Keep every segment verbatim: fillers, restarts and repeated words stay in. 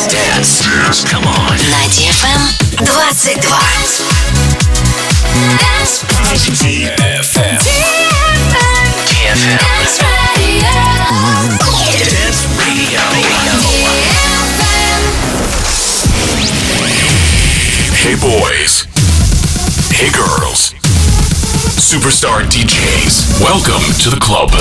Dance. Dance. Come on. На ди эф эм двадцать два. ди эф эм. ди эф эм. Dance Radio. Hey boys. Hey girls. Superstar ди джейс. Welcome to the club.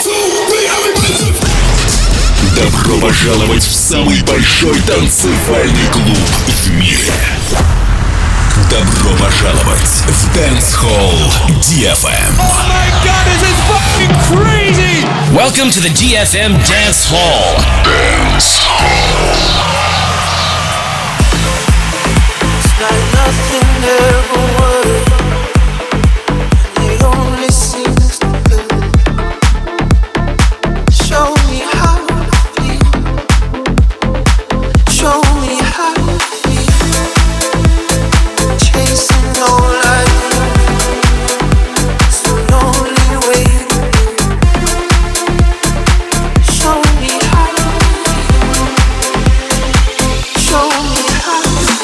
Добро пожаловать в самый большой танцевальный клуб в мире. Добро пожаловать в Dance Hall ди эф эм. Oh my god, this is fucking crazy! Welcome to the ди эф эм Dance Hall. Dance Hall. It's like nothing ever was. It only seems good. Show me how to feel. Show me how to feel. Chasing all I do. It's the lonely way to be. Show me how to feel. Show me how to feel.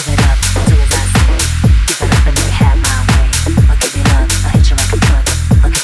Give it up, do as I say.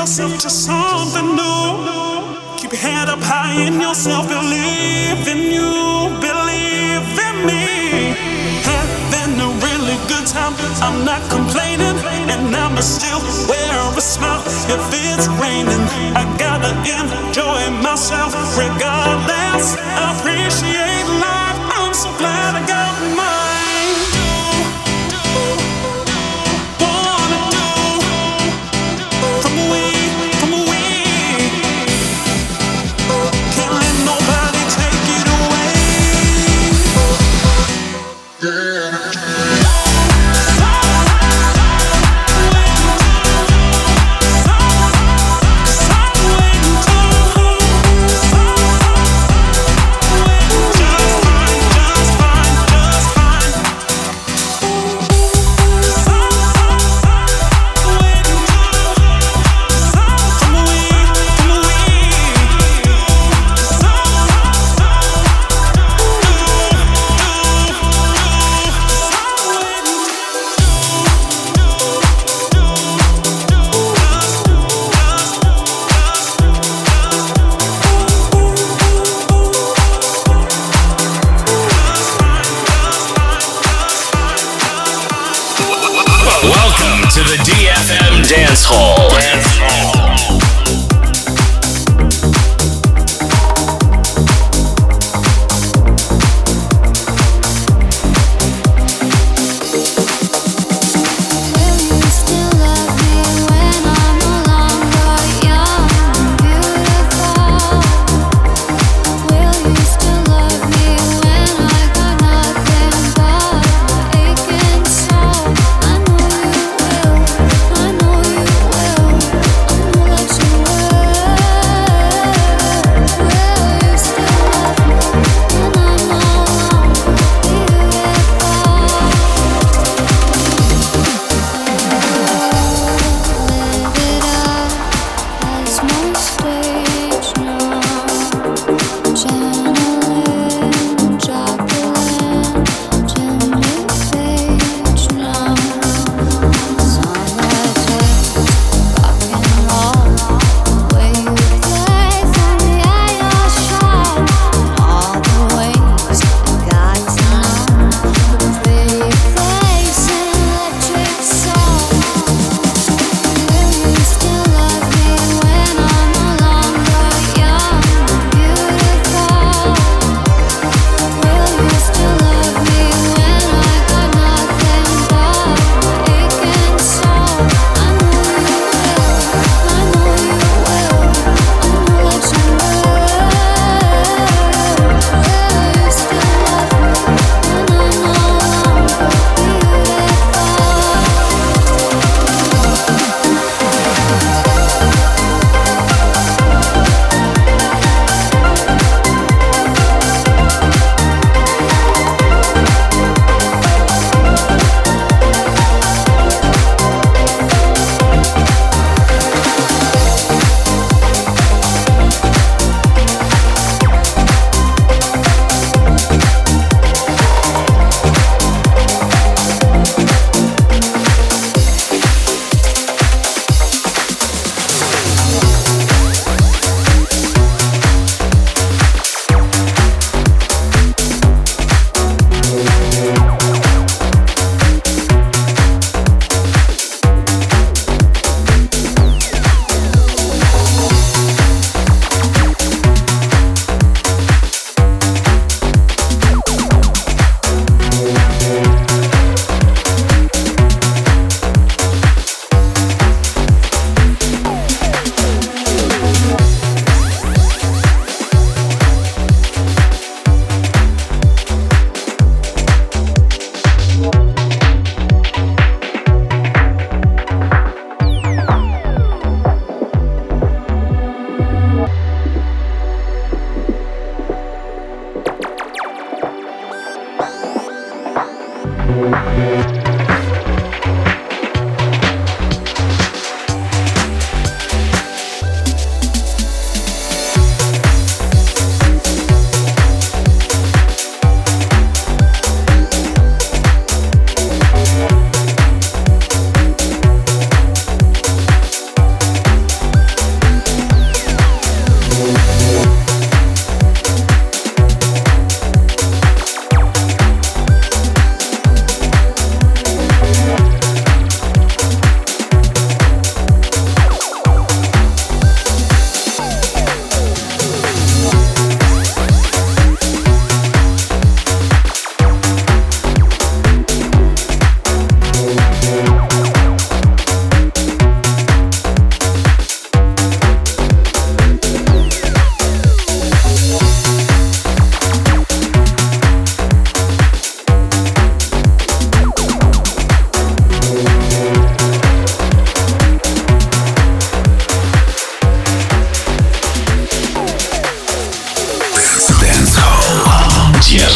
yourself to something new. Keep your head up high in yourself. Believe in you, believe in me. Having a really good time. I'm not complaining, and I'ma still wear a smile if it's raining. I gotta enjoy myself regardless. I appreciate life. I'm so glad I got mine. To the D F M Dance Hall. Dance Hall.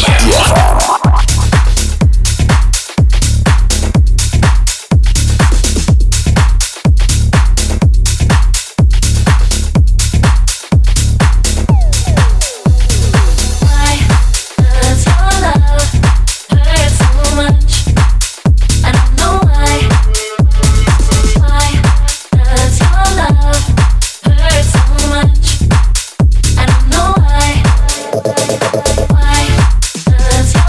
Why does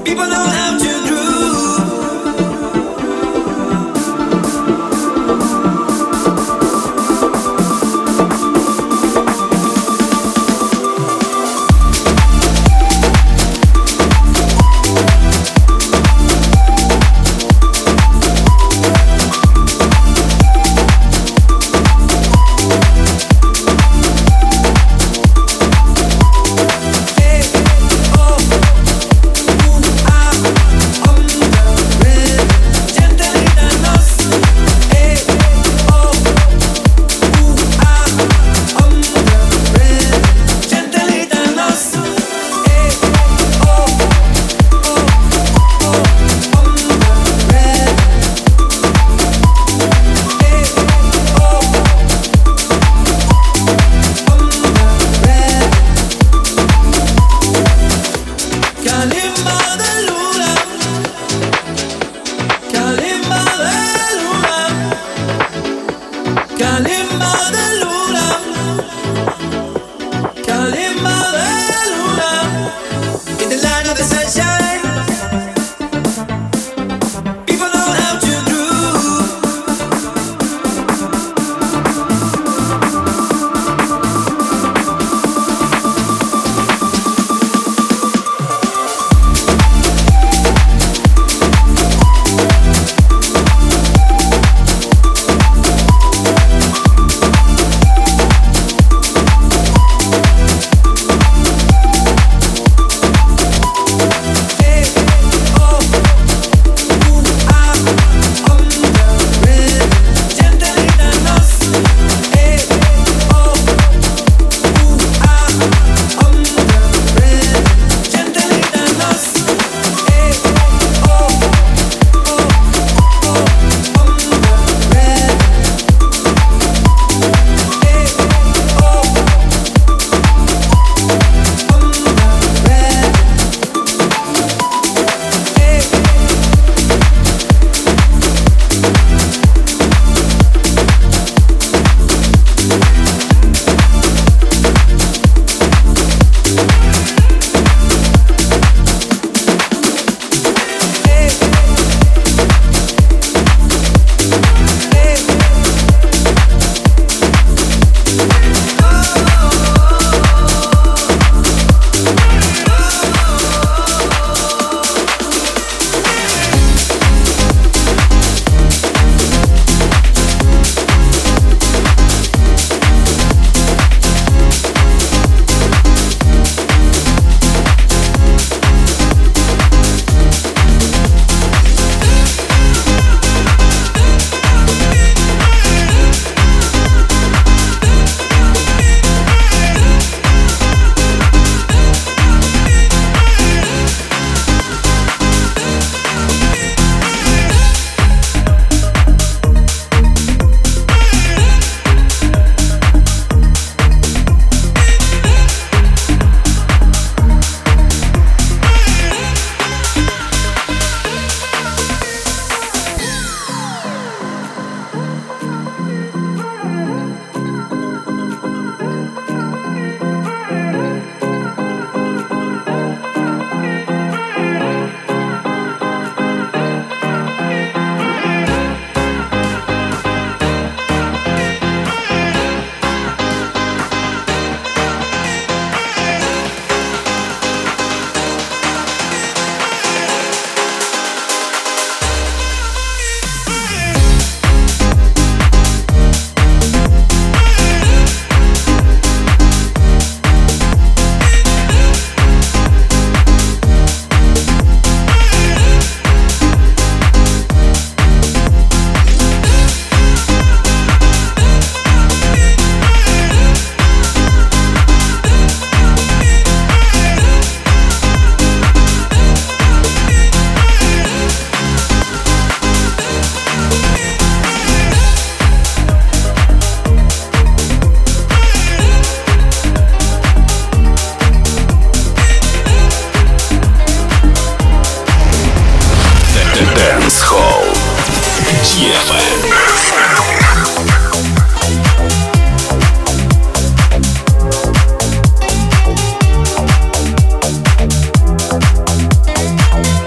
We'll be right back.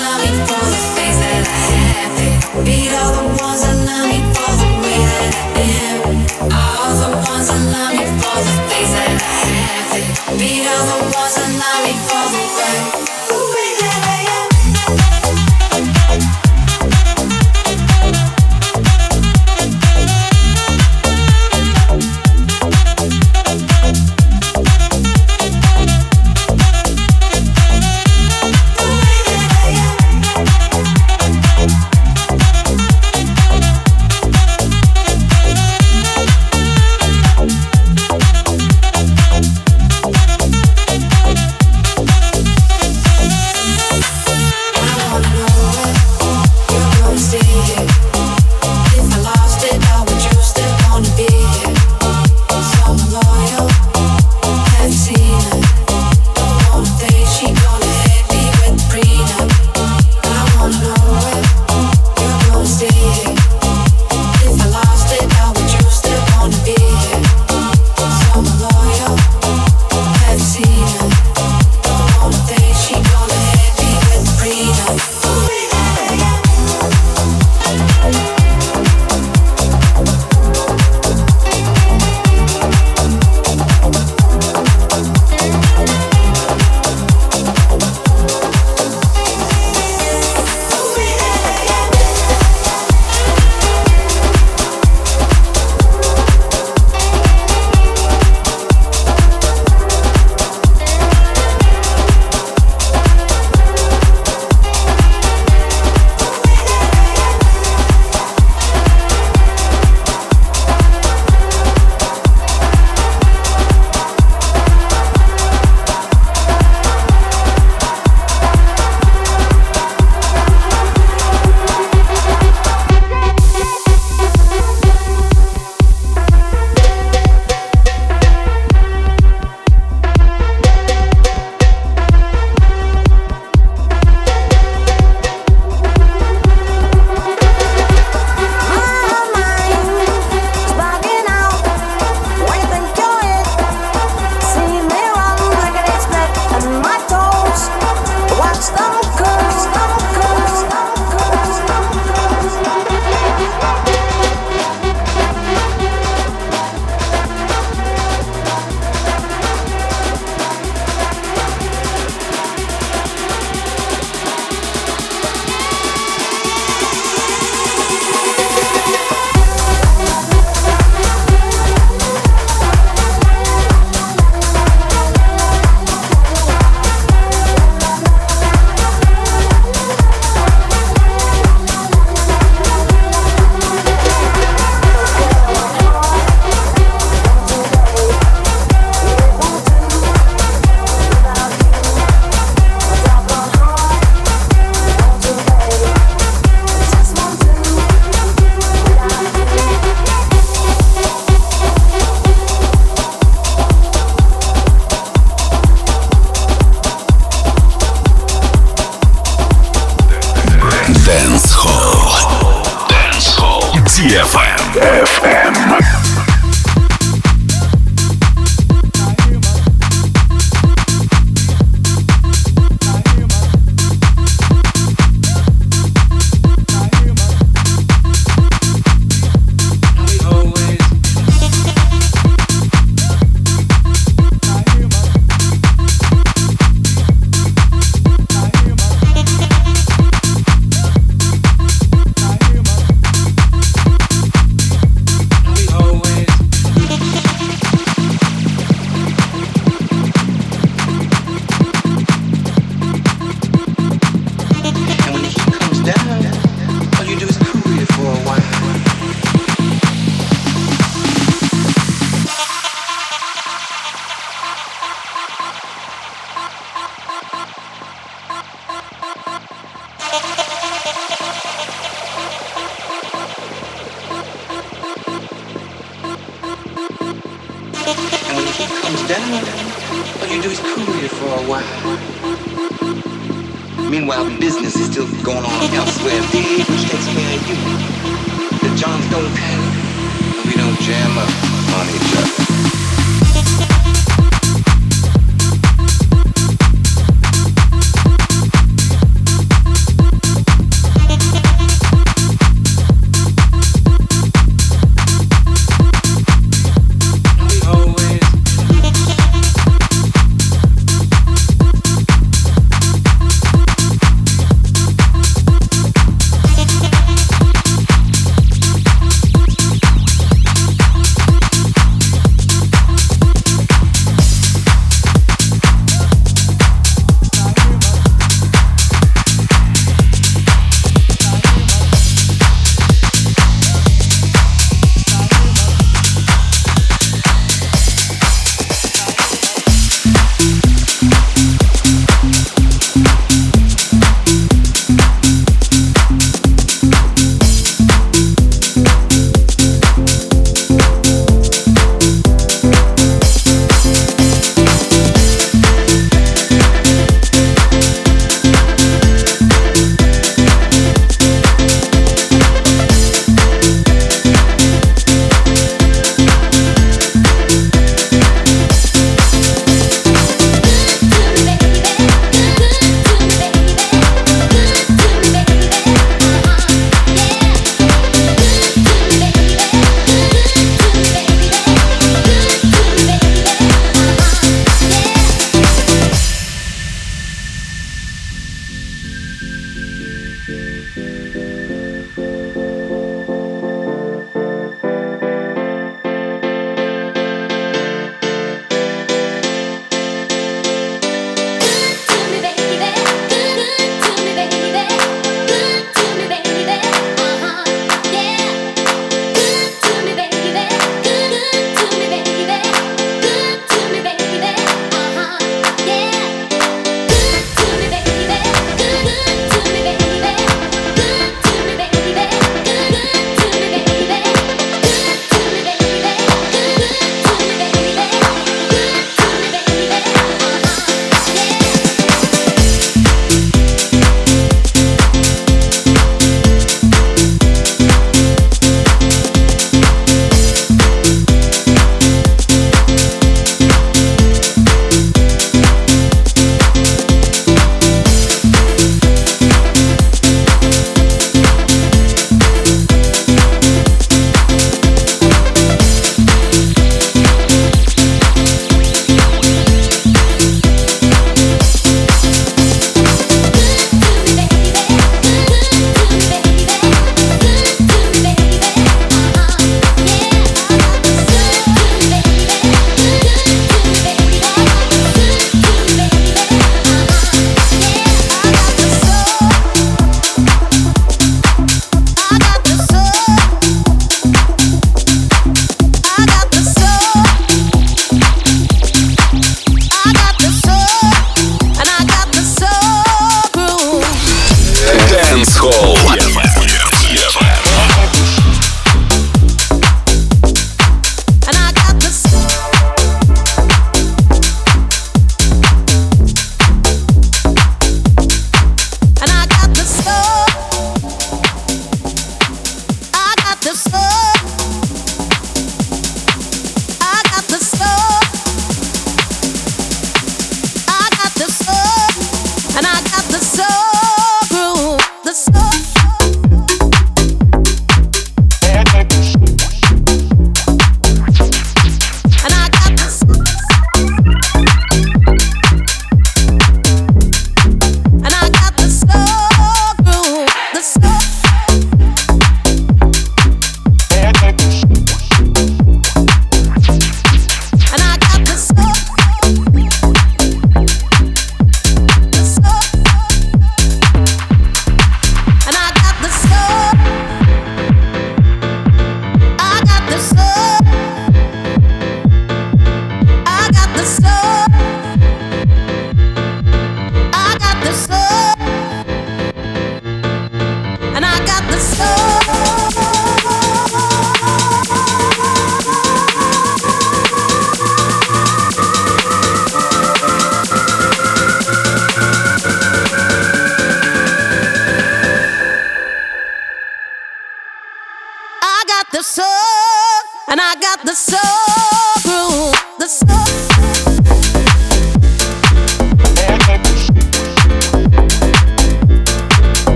эф эм.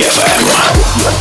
эф эм.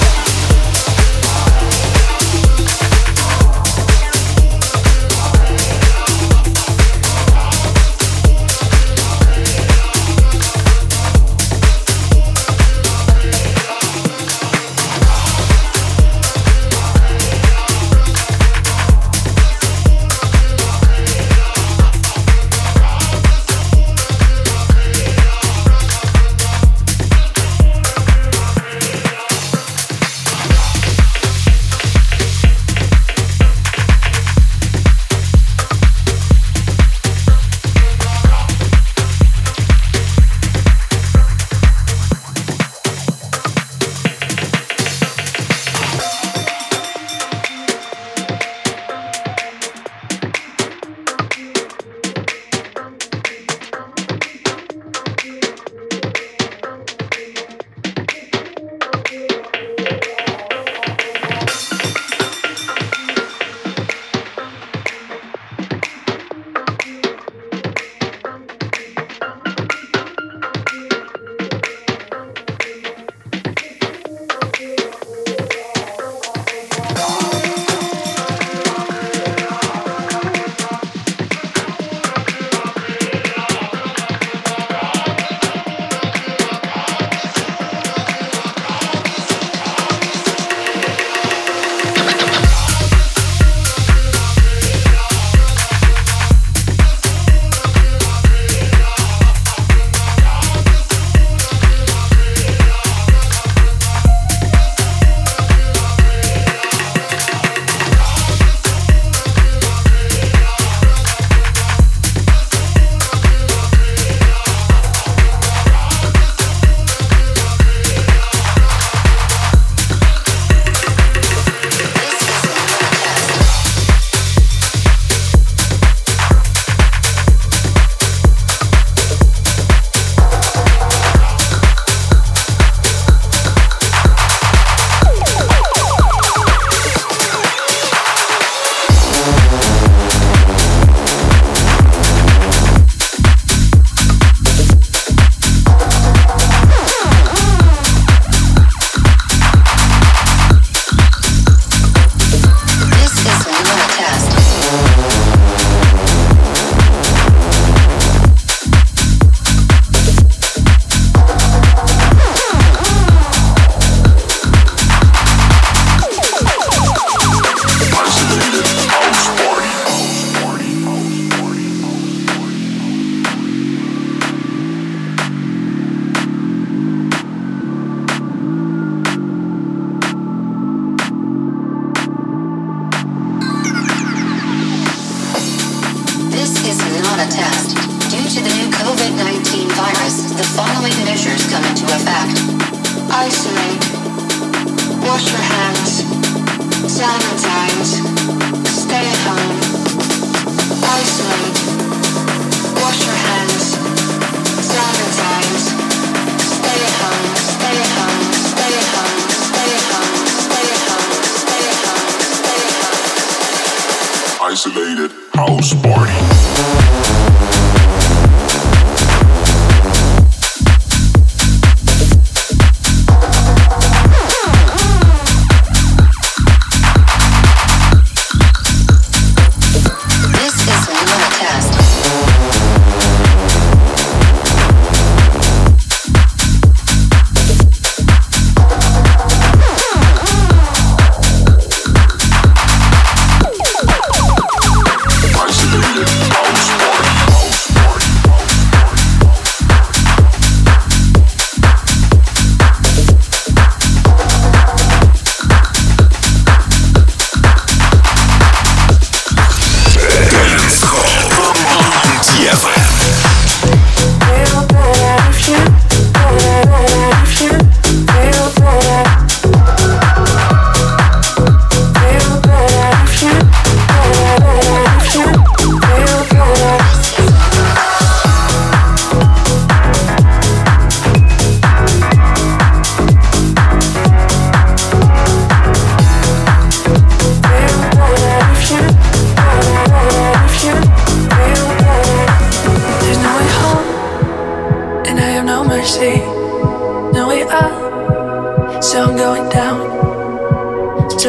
Isolated house party.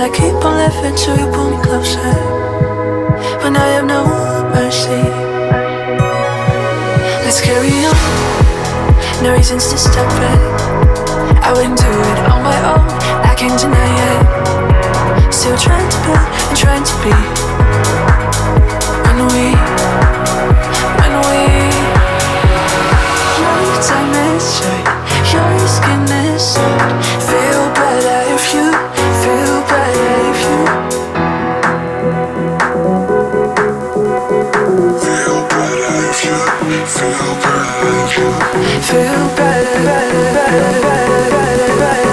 I keep on living till you pull me closer. When I have no mercy. Let's carry on. No reasons to stop it. I wouldn't do it on my own. I can't deny it. Still trying to build and trying to be. When we, when we, your time is right. Your skin is soft. Feel better if you, feel better if you. Feel better if you, feel better if you. Feel better, better, better, better, better, better,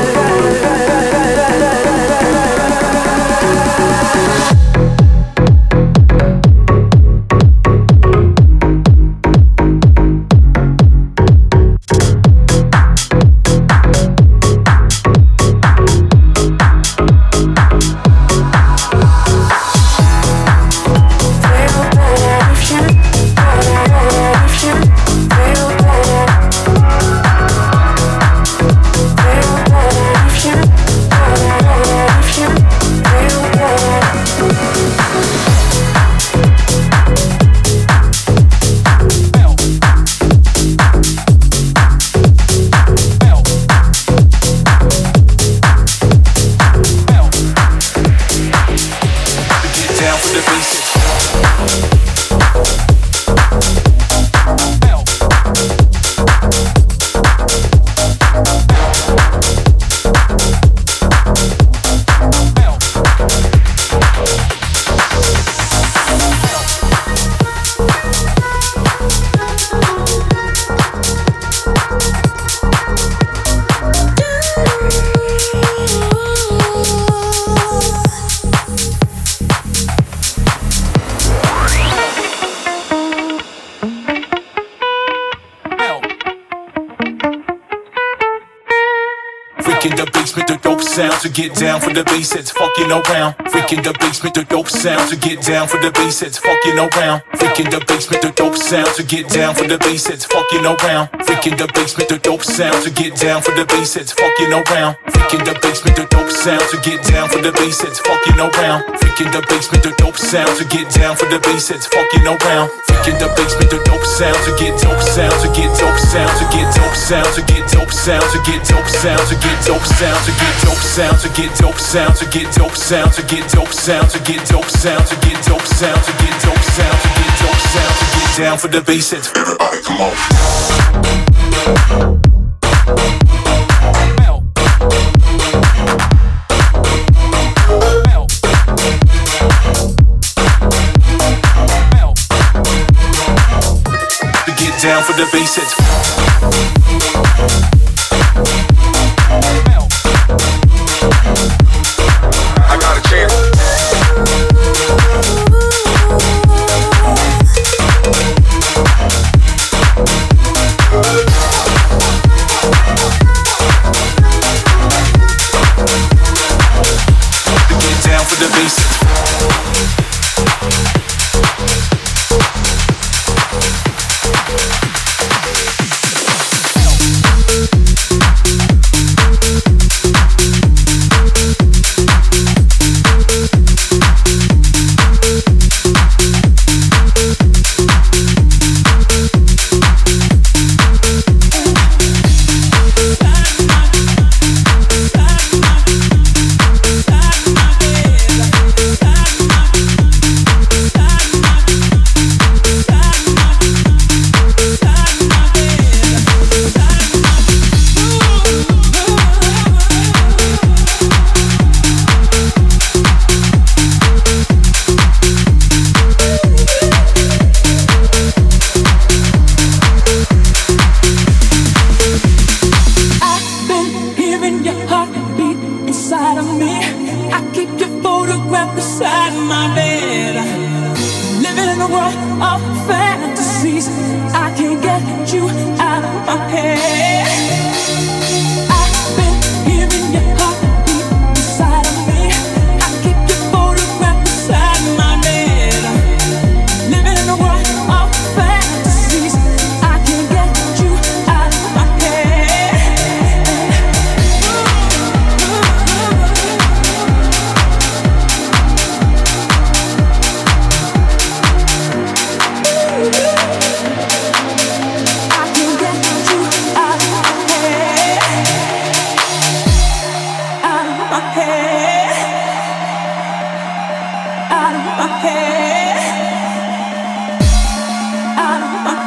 To get down for the bass that's fucking around. Freak in the basement, the dope sound. To get down for the bass that's fucking around. Freak in the basement, the dope sound. To get down for the bass that's fucking around. Freak in the basement, the dope sound. To get down for the bass that's fucking around. Freak in the basement, the dope sound. To get down for the bass that's fucking around. Freak in the basement, the dope sound. To get down for the bass that's fucking around. Freak in the basement, the dope sound. To get dope sound. To get dope sound. To get dope sound. To get dope sound. To get dope sound. To get dope sound. To get dope sound. To get dope sound, to get dope sound, to get dope sound, to get dope sound, to get dope sound, to get dope sound, to get dope sound, to get down for the bass that's Everybody come on. To get down for the bass that's I got a chance. to get down for the bass.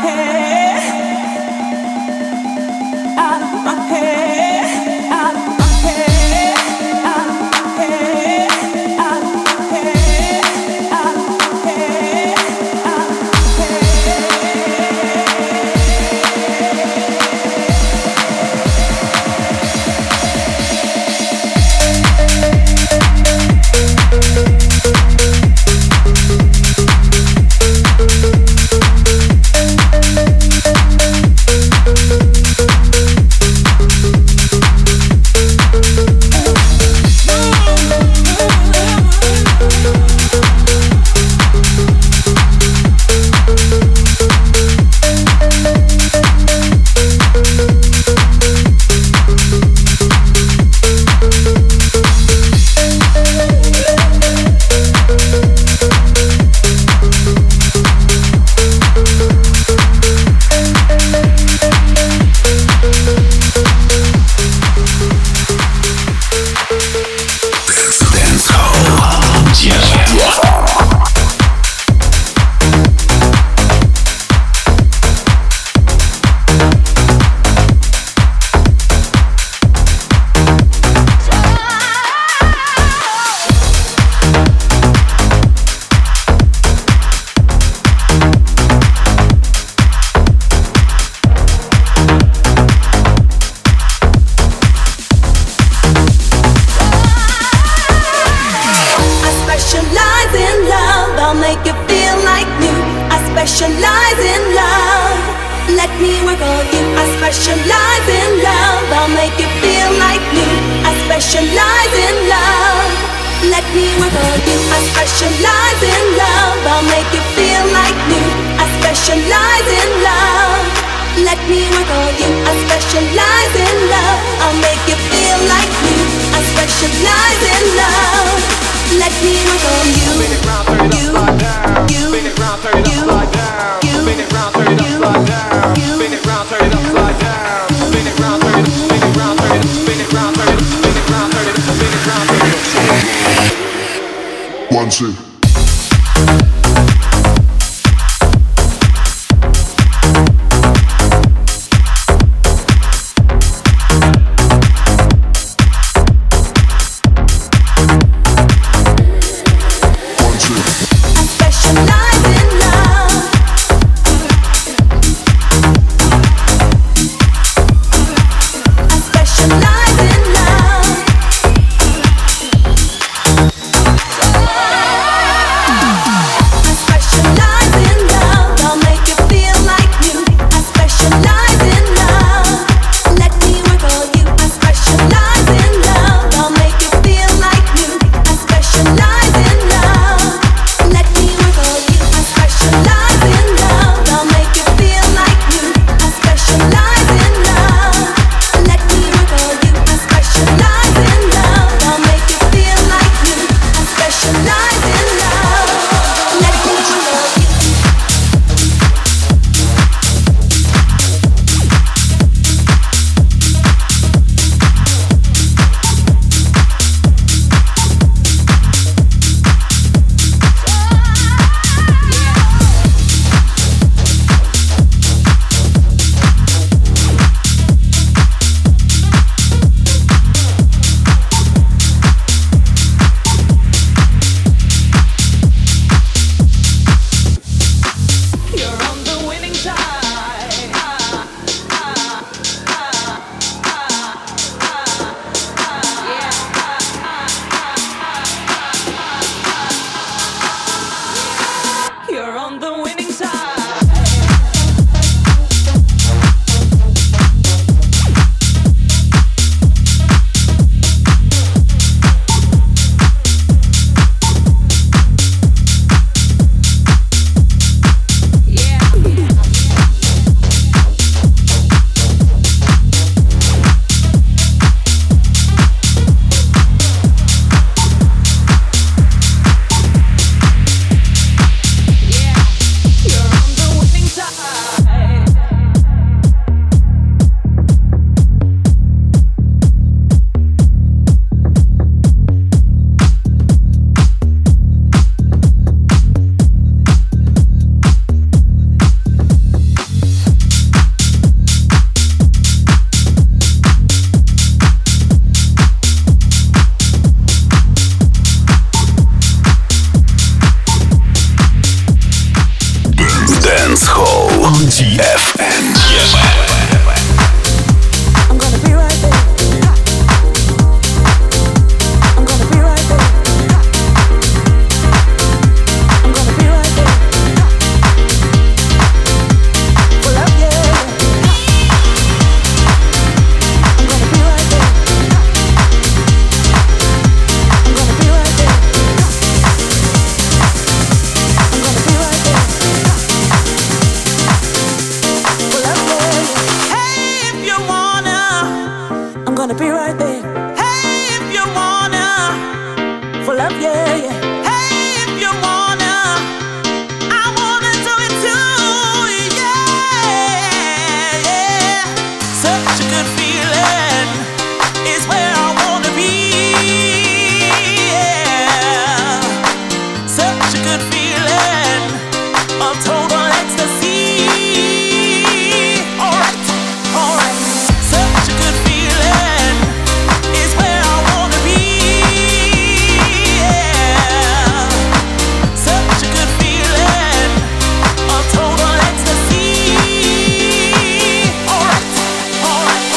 One, two. Specialize in love. gonna be right there. Hey, if you wanna, for love, yeah, yeah. Hey, if you wanna, I wanna do it too, yeah, yeah. Such a good feeling is where I wanna be, yeah. Such a good feeling of total ecstasy. Alright, alright. Such a good feeling is where I wanna be, yeah. Such a good feeling of total ecstasy. Alright, alright,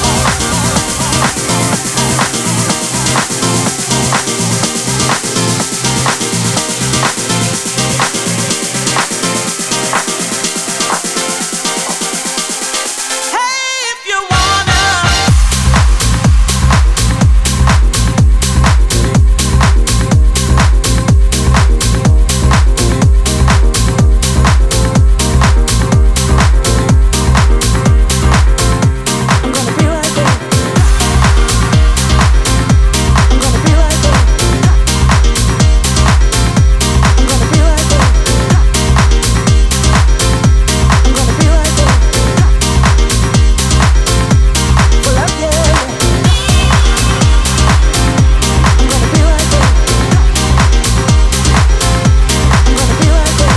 hey, if you wanna. I'm gonna be right there. I'm gonna be right there. I'm gonna be right there. I'm gonna be right there. For love, yeah, yeah. I'm gonna be right there. I'm gonna be right there.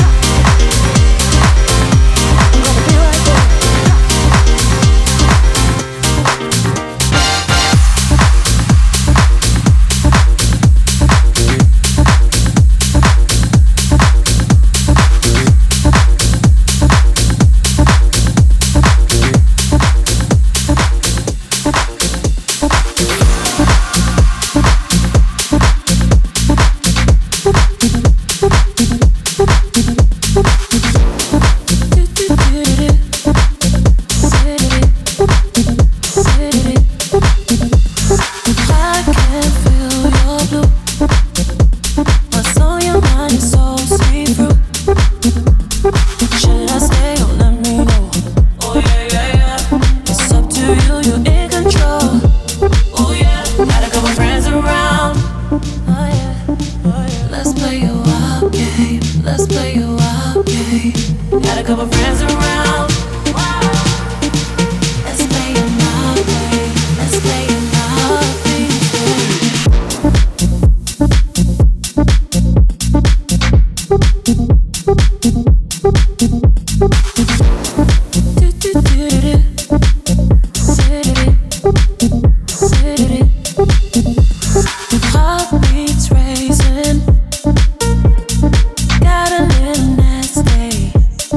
I'm gonna be right there. I can feel your blue. What's on your mind is so see-through. Should I stay or let me know? Oh yeah, yeah, yeah. It's up to you, you're in control. Oh yeah, got a couple friends around. Oh yeah, oh yeah. Let's play a wild game. Let's play a wild game. Got a couple friends around. Let's play a wild game. Let's play a wild game. Heartbeats racing, got a little nasty.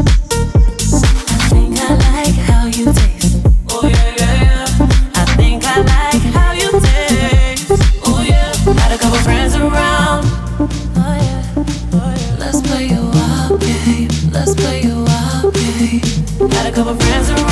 I think I like how you taste. Oh yeah, yeah, yeah. I think I like how you taste. Oh yeah, got a couple friends around. Oh yeah, oh yeah. Let's play a wild game. Let's play a wild game. Got a couple friends around.